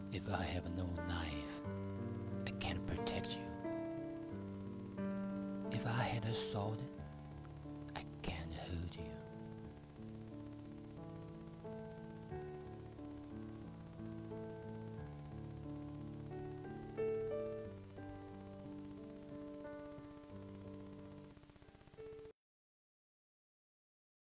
If I have no knife, I can't protect you. If I had a sword,